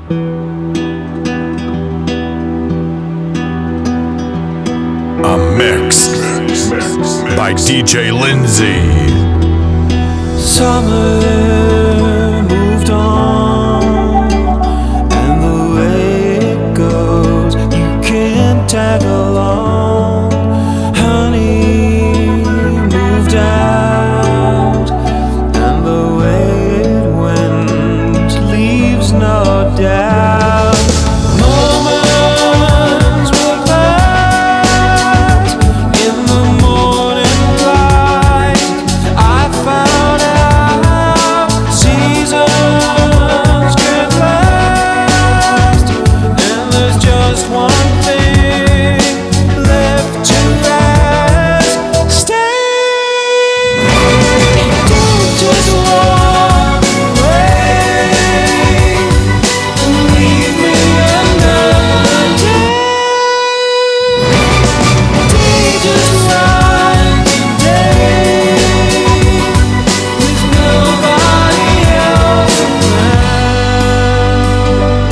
A mix by DJ Lindsay. Summer moved on, and the way it goes, you can't tag along. Honey moved out, and the way it went leaves no doubt. Moments will pass in the morning light. I found out seasons can last, and there's just one thing left to ask. Stay, don't just walk away and leave me another day. Day just like today, with nobody else around.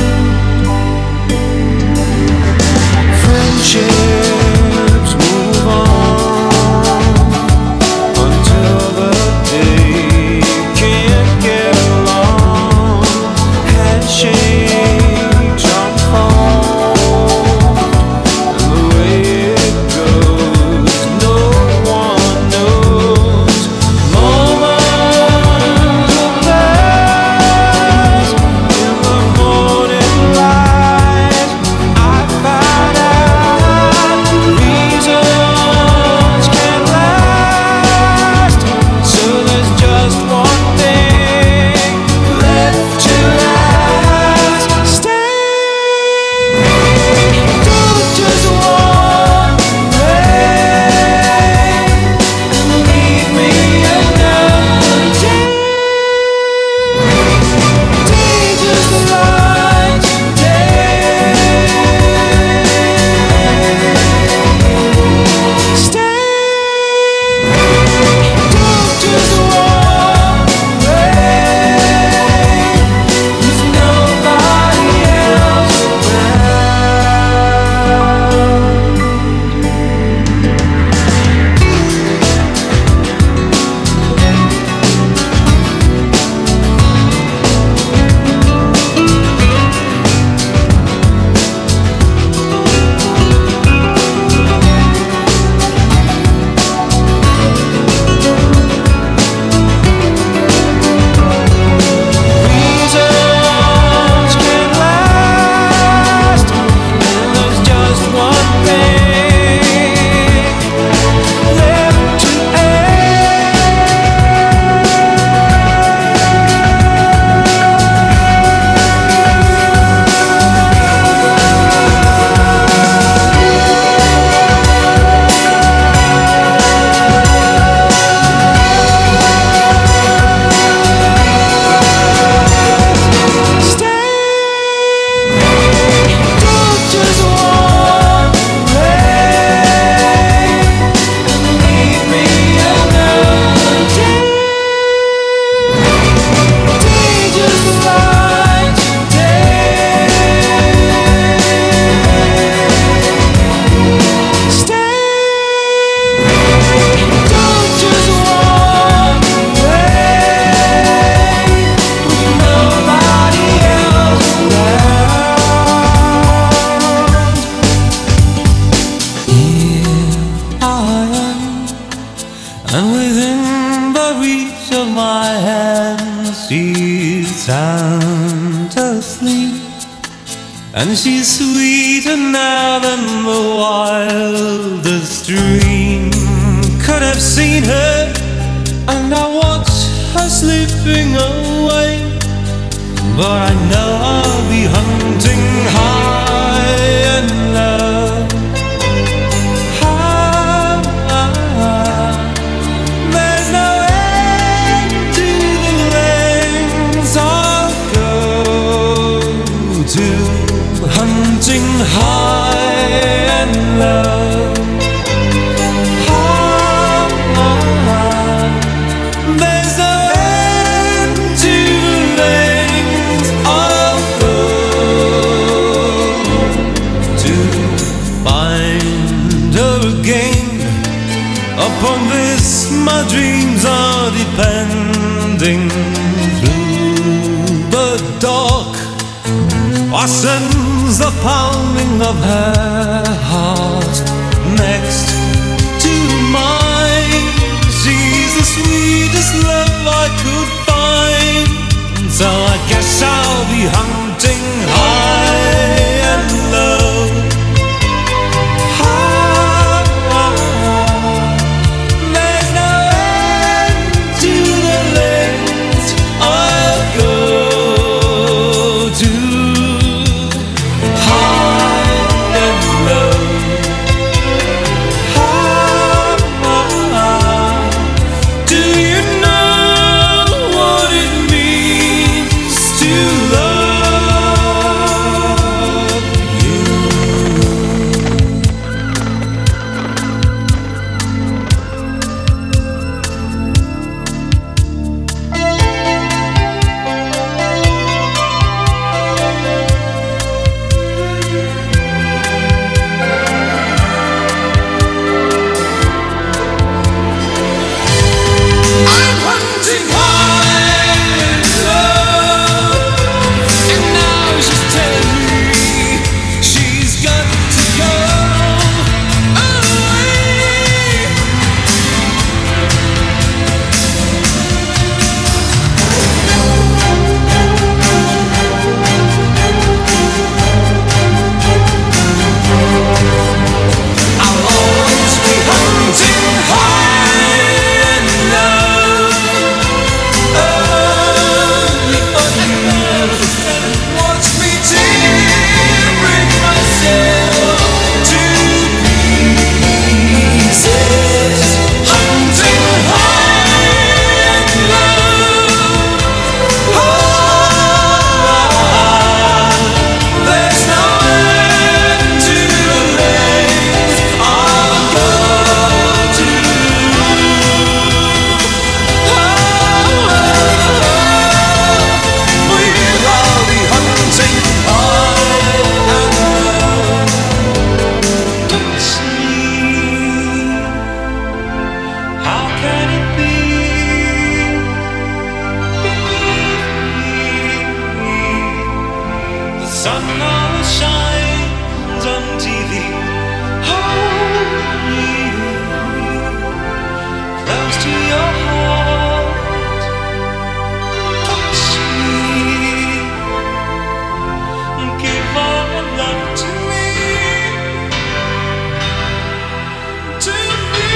Friendships move on until the day you can't get along. Handshakes unfold, and the way it goes, no one knows. Moments will pass in the morning light. I found out reasons can't last, so there's just one thing left to ask. Stay, don't just walk away and leave me another day. Day just like today. Stay, don't just walk away with nobody else around. Reasons can last, and there's just one thing left to Stay, don't just walk away and leave me another day. Day just like today. Stay, don't just walk away with nobody else around. Here I am, and within the reach of my hand, she's sound asleep, and she's sweeter now than the wildest dream could have seen her. And I watch her slipping away, but I know I'll be hunting high and low. There's no end to the lengths I'll go to, hunting high and low. There's no end to the lengths dreams are depending through the dark. I sense the pounding of her heart next to mine. She's the sweetest love I could find. So I guess I'll be hunting high and low. There's no end to the lengths I'll go to. High and low. Do you know what it means to love you? I'm hunting high and low, and now she's telling me she's got to go away. I'll always be hunting high and low. Only for you. Watch me tearing myself to pieces. Hunting high and low. There's no end to the lengths I'll go to. We'll all be hunting high and low. See, how can it be? The sun always shines on TV. Hold me close to your heart. Touch me. Give all your love to me. To me.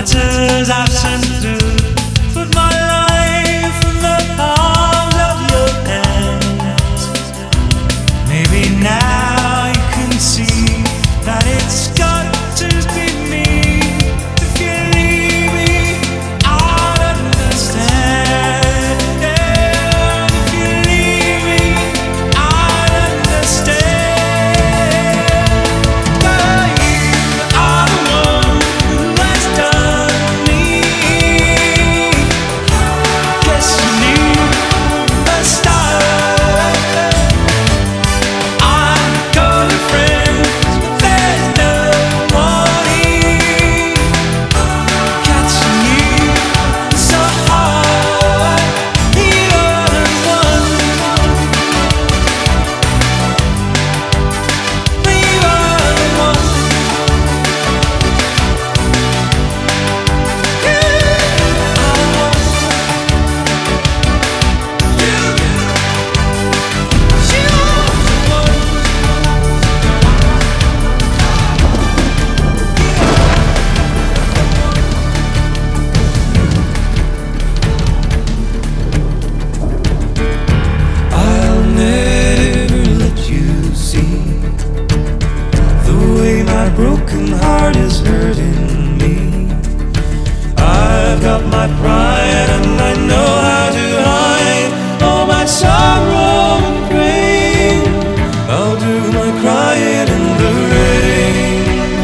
letters I've sent through. Put my life in the palms of your hands. Maybe now you can see that it's got to be me. If you leave me, I'll understand. If you leave me, I'll understand. But you are the one who has done me. Guess you knew a start. I've got a friend, but there's no one here. Catching you so hard. You're the one. You are the one. I'll never let you see the way my broken heart is hurting me. I've got my pride and I know how to hide all my sorrow and pain. I'll do my crying in the rain.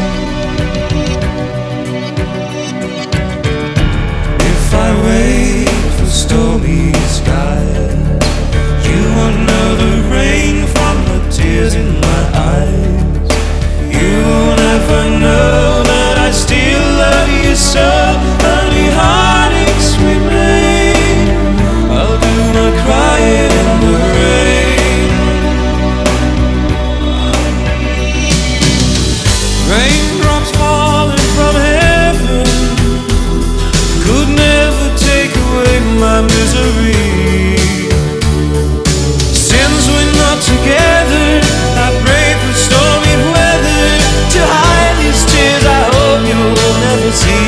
If I wait for stormy skies, you won't know the rain from the tears in my eyes. You'll never know that I still love you so. Only heartaches remain. I'll do my crying in the rain. Raindrops falling from heaven could never take away my misery. Since we're not together, I pray for stormy weather to hide these tears I hope you'll never see.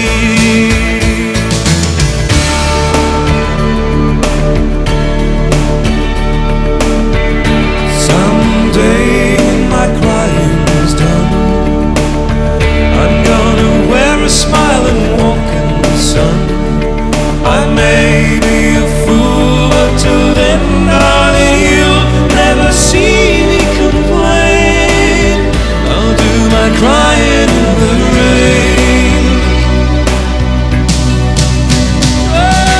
Someday when my crying's done, I'm gonna wear a smile and walk in the sun. I may be a fool, but till then, darling, you'll never see me complain. I'll do my crying in the rain. Oh,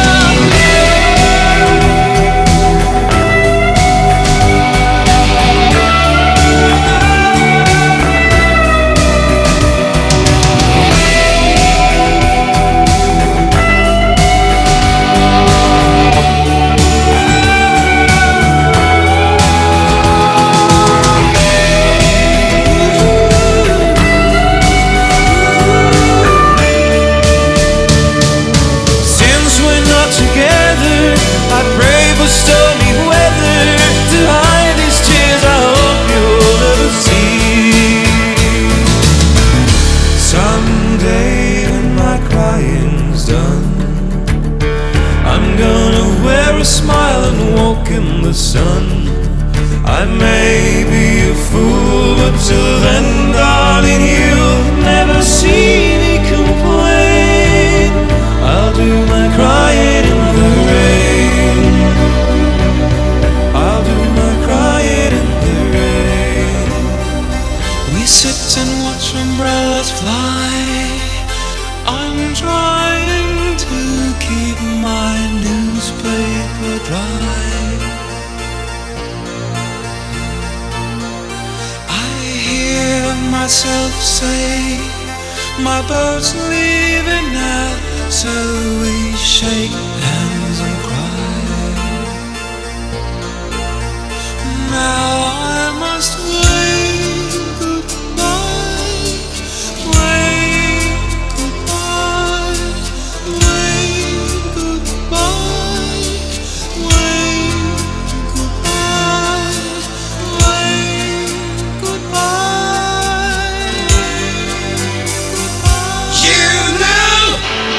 since we're not together, I pray for stormy weather to hide these tears I hope you'll never see. Someday when my crying's done, I'm gonna wear a smile and walk in the sun. I may be a fool, but till then, darling, you'll never see me complain. I'll do my crying in the rain. I'll do my crying in the rain. We sit and watch umbrellas fly. I'm trying to keep my newspaper dry. I hear myself say, my boat's leaving now, so we shake hands and cry. Now I must wave goodbye, wave goodbye, wave goodbye, wave goodbye, wave goodbye. You know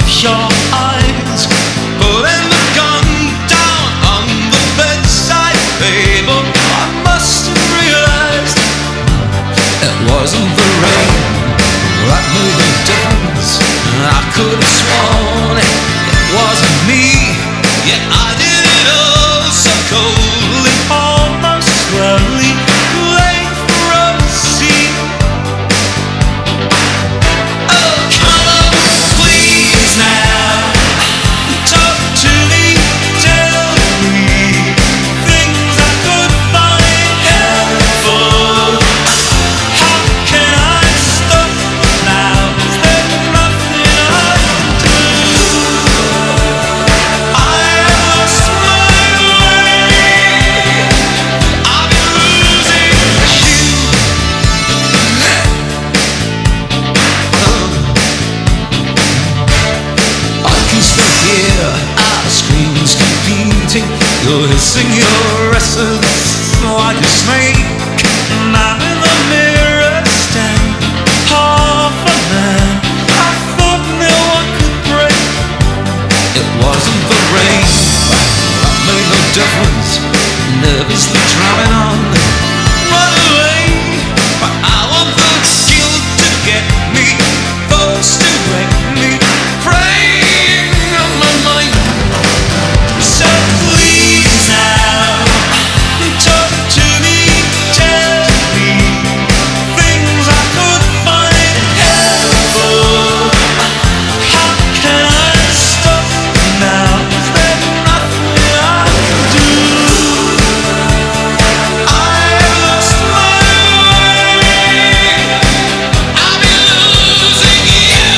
your eyes, putting the gun down on the bedside table. I must have realized it wasn't the rain that made the difference. I could have sworn it wasn't me, yet I did it all so coldly, almost slowly, late for a scene. Oh, come on, please now, talk to me, tell me things I could find helpful. How can I stop now? Is there nothing I can do? I lost my way. I've been losing you. I can still hear our screams competing. You're hissing your essence like a snake. And I'm in the mirror stand, half a man. I thought no one could break. It wasn't the rain that made no difference. Nervously drumming on, run away. But I want the guilt to get me, thoughts to wreck me, preying on my mind. So please now, talk to me, tell me things I could find helpful. How can I stop now? Is there nothing I can do? I've lost my way. I've been losing you.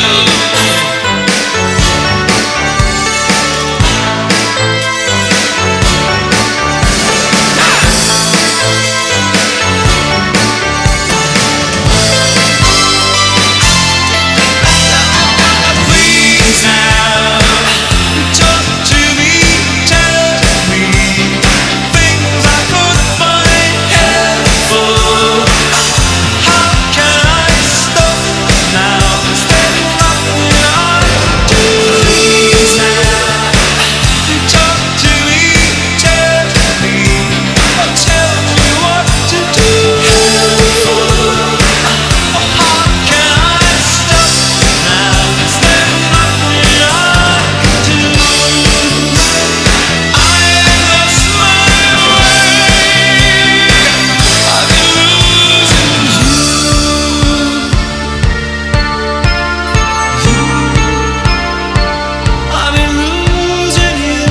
Please now, talk to me, tell me things I could find helpful. How can I stop now? Is there nothing I can do? Please now, talk to me, tell me, oh, tell me what to do. Helpful. How can I stop now? Is there nothing I can do? I lost my way. I've been losing you. I've been losing you.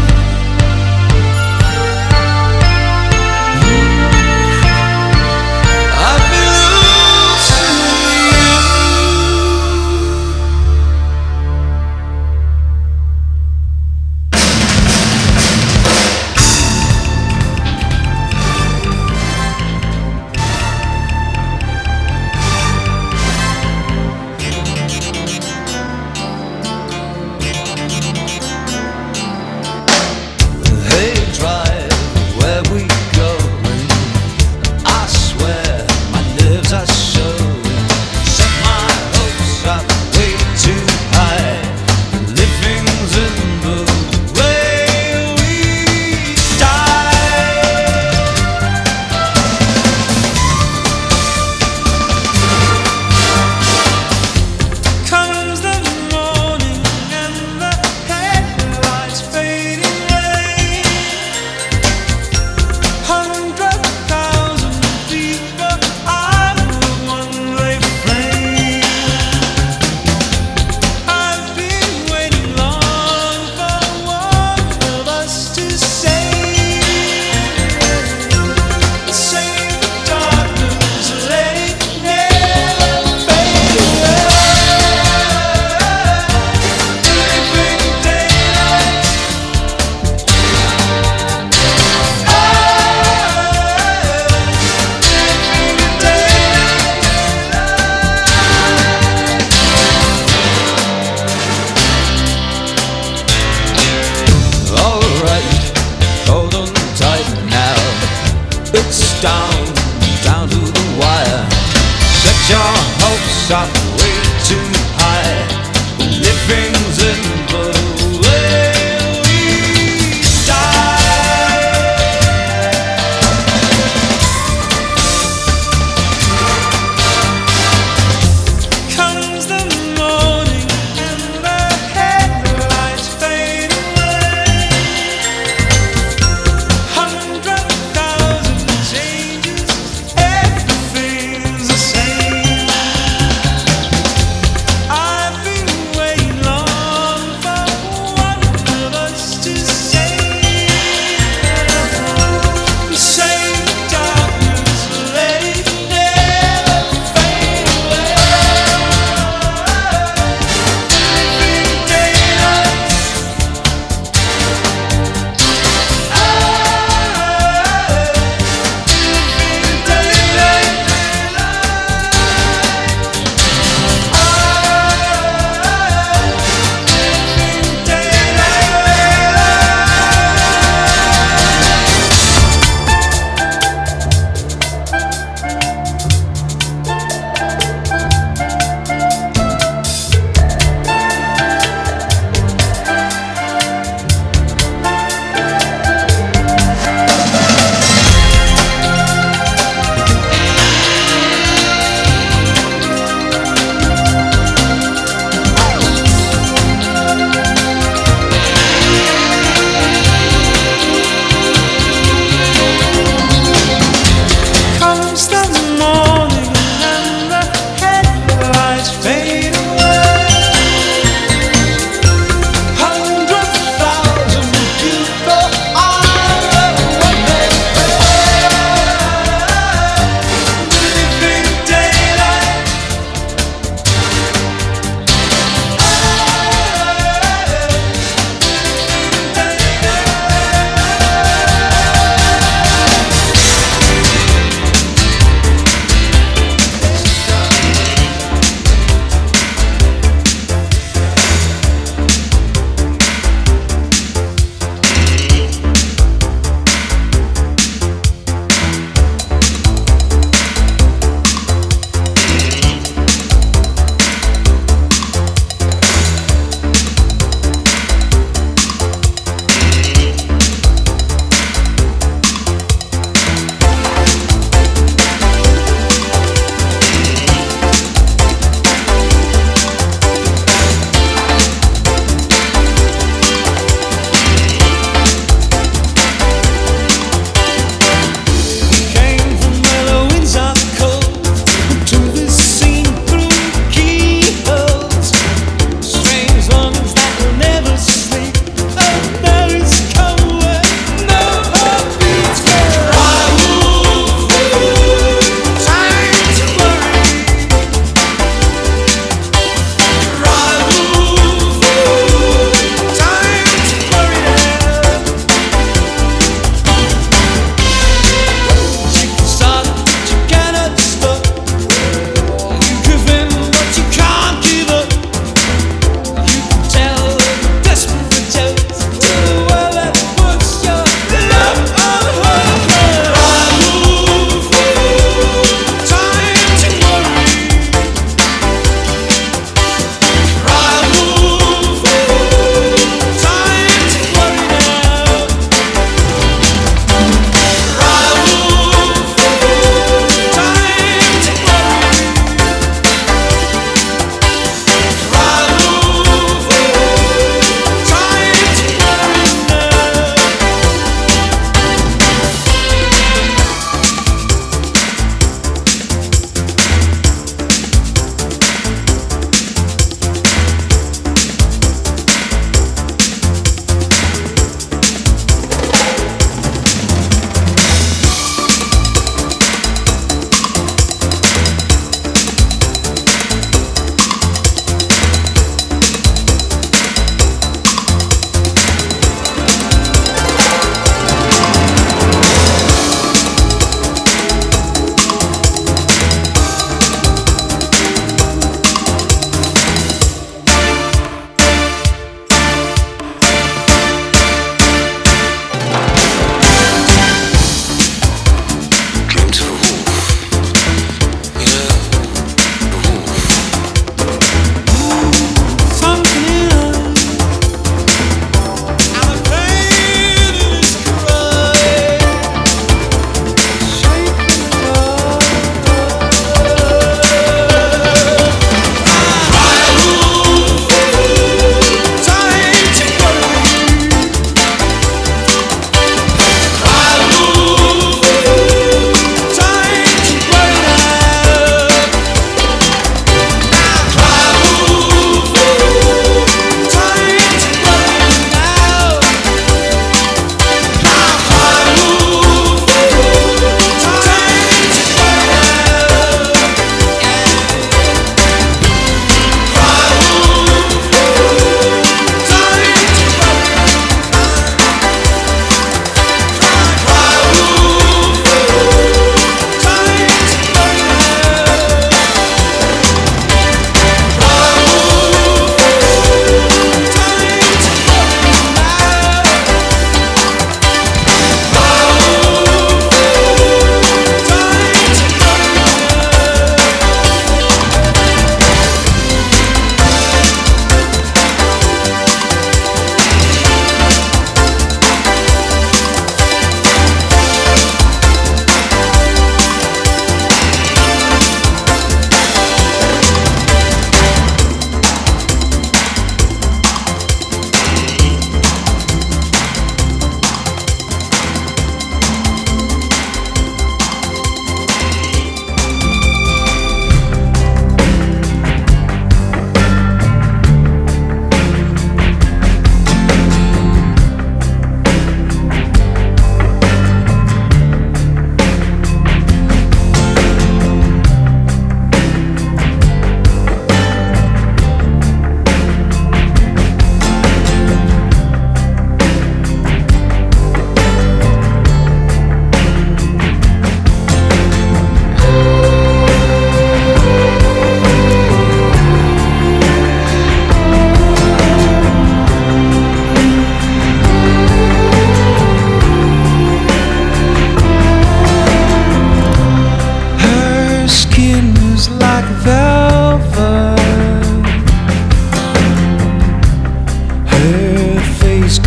I've been Hey, drive, where we going? I swear my nerves are showing. Set my hopes up way too high. Living's in the way we die. Comes the morning and the headlights fading away. 100,000 people are one-way flame. I've been waiting long for one of us to save the darkness, let it never fade away. Living daylight. Alright, hold on tight now. It's down to the wire. Set your hopes up way too high. Living's in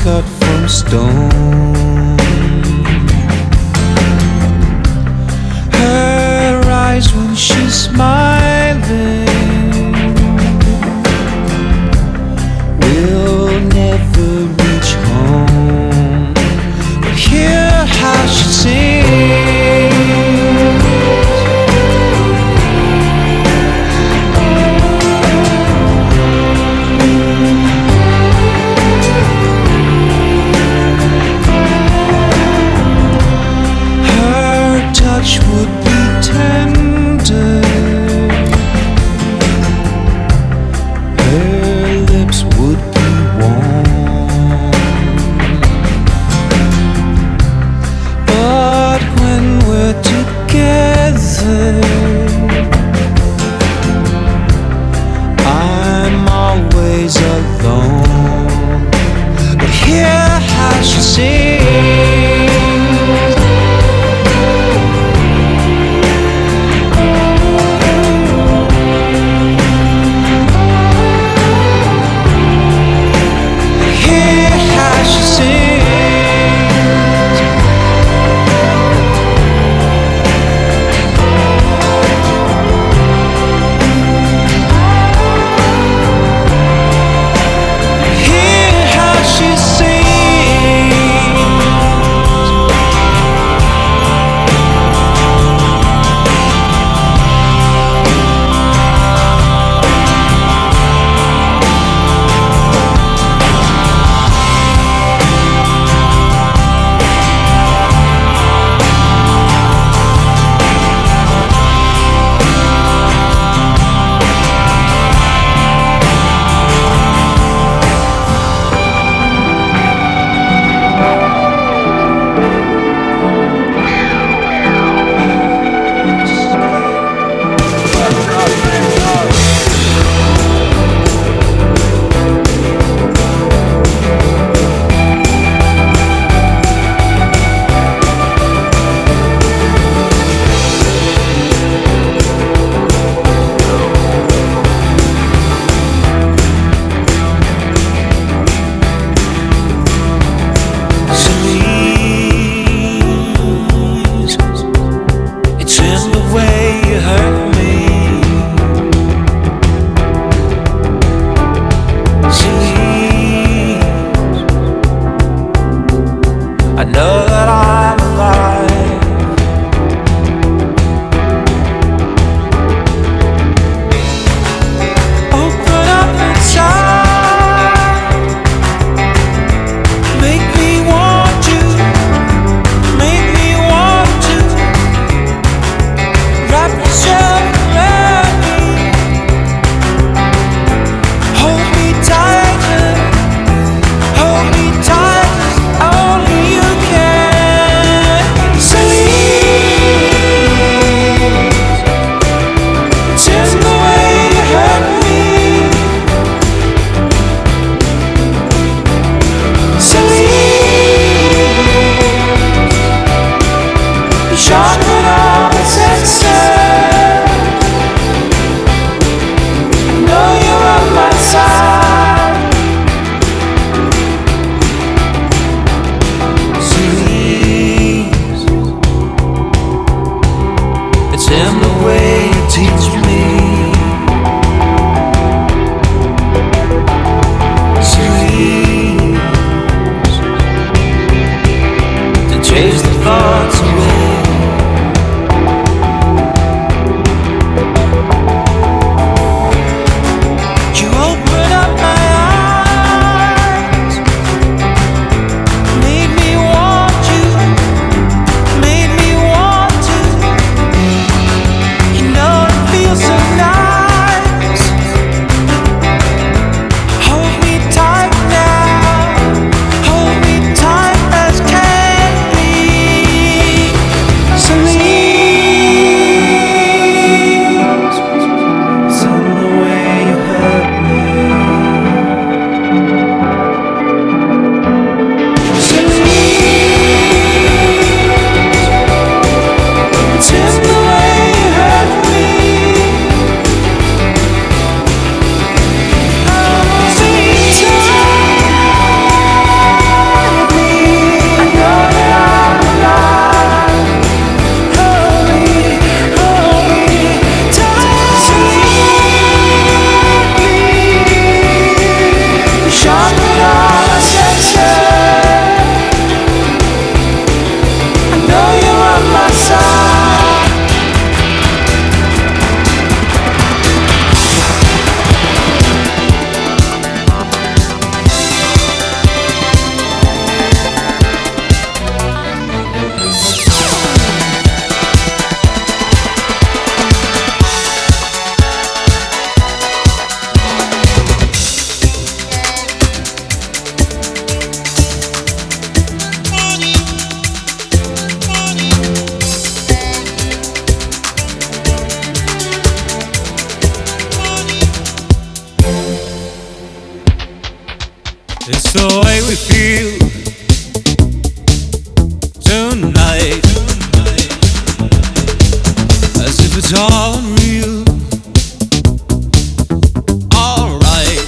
cut from stone. Her eyes when she's smiling will never reach home, but hear how she sings. Her touch would be tender, her lips would be warm, but when we're together, I'm always alone. But hear how she sings. Hear how she sings. Hear how she sings. It's in the way you hurt me. Please, I know that I'm alive. Open up inside, make me want you, make me want to. Wrap yourself around me, hold me tighter, hold me tight as only you can. Celine, it's in the way you hurt me. Celine, you sharpen all the senses. Know you're on my side. Please, it's in the way you teach me. Please, to chase the thoughts away. You open up my eyes, made me want you, made me want to. You know it feels so nice. Hold me tight now, hold me tight as can be. It's the way we feel tonight, as if it's all unreal. Alright,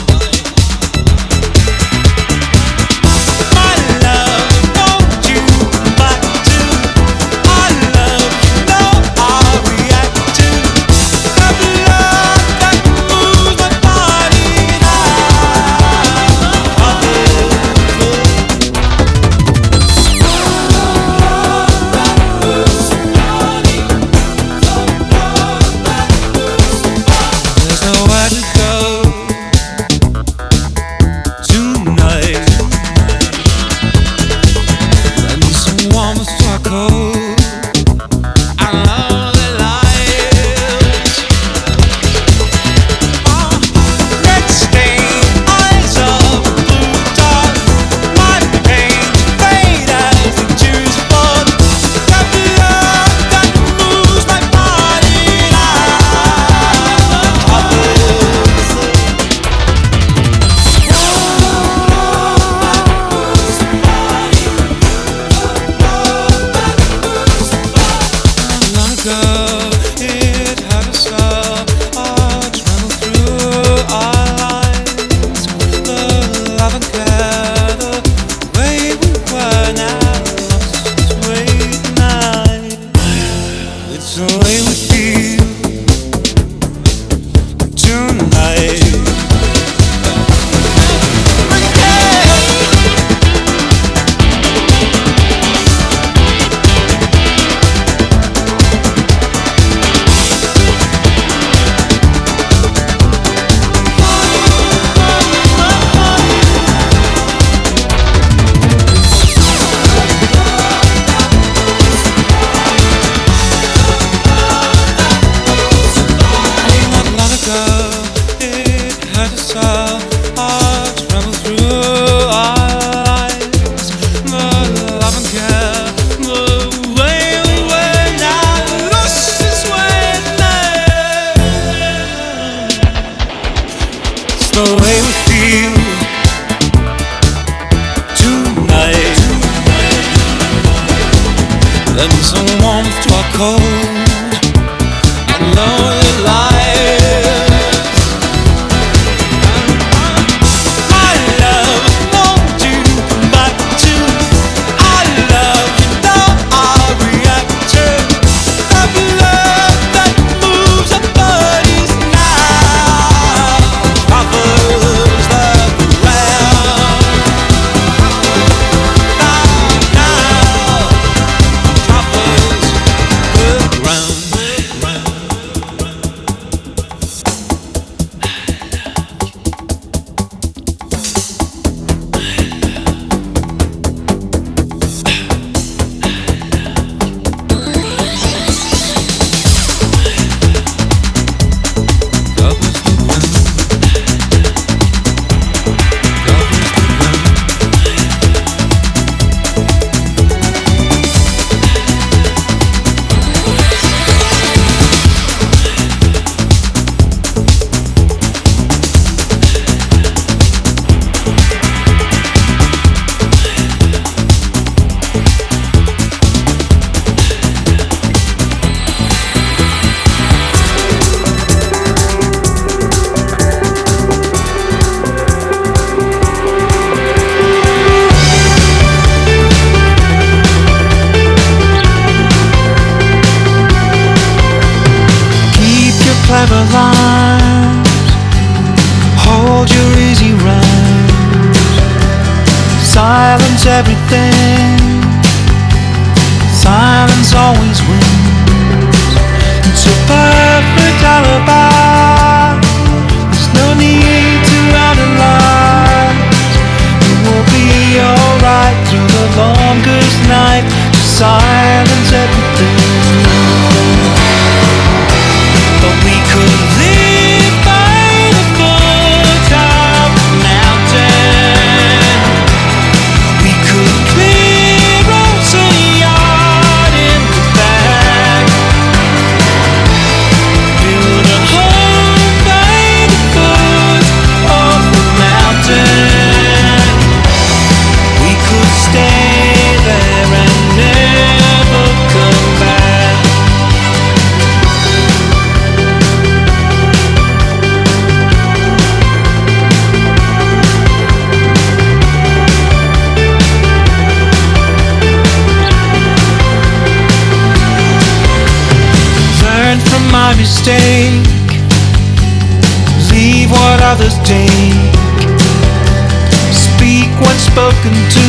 my love, won't you come back to our love? You know I'll react to the love that moves my body There's nowhere to go tonight. Let me some warm cold. I know the lights. Red stain, eyes of blue dark. My pains fade as the tears fall. The blood that moves my body long ago, it had us all travel through our lives. The love and care, the way we were now, lost its way tonight. It's the way we feel tonight. Not long ago, it had us all travel through our lives. The love and care, the way we were now, lost its way now. It's the way we feel tonight. Lend some warmth to our cold and lonely lives. My love, won't you come back to our love? You know I'll react to the blood that moves our bodies now, covers the ground. Now, covers the ground. Covers the ground. Covers the ground. Keep your clever lines, hold your easy rhymes, silence everything, silence always wins. It's a perfect alibi, there's no need to analyze. It will be alright through the longest night. Just silence everything. But we could live by the foot of the mountain. We could clear us a yard in the back, build a home by the foot of the mountain. others take. Speak when spoken to,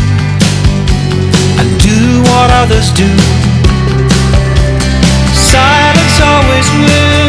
and do what others do. Silence always wins.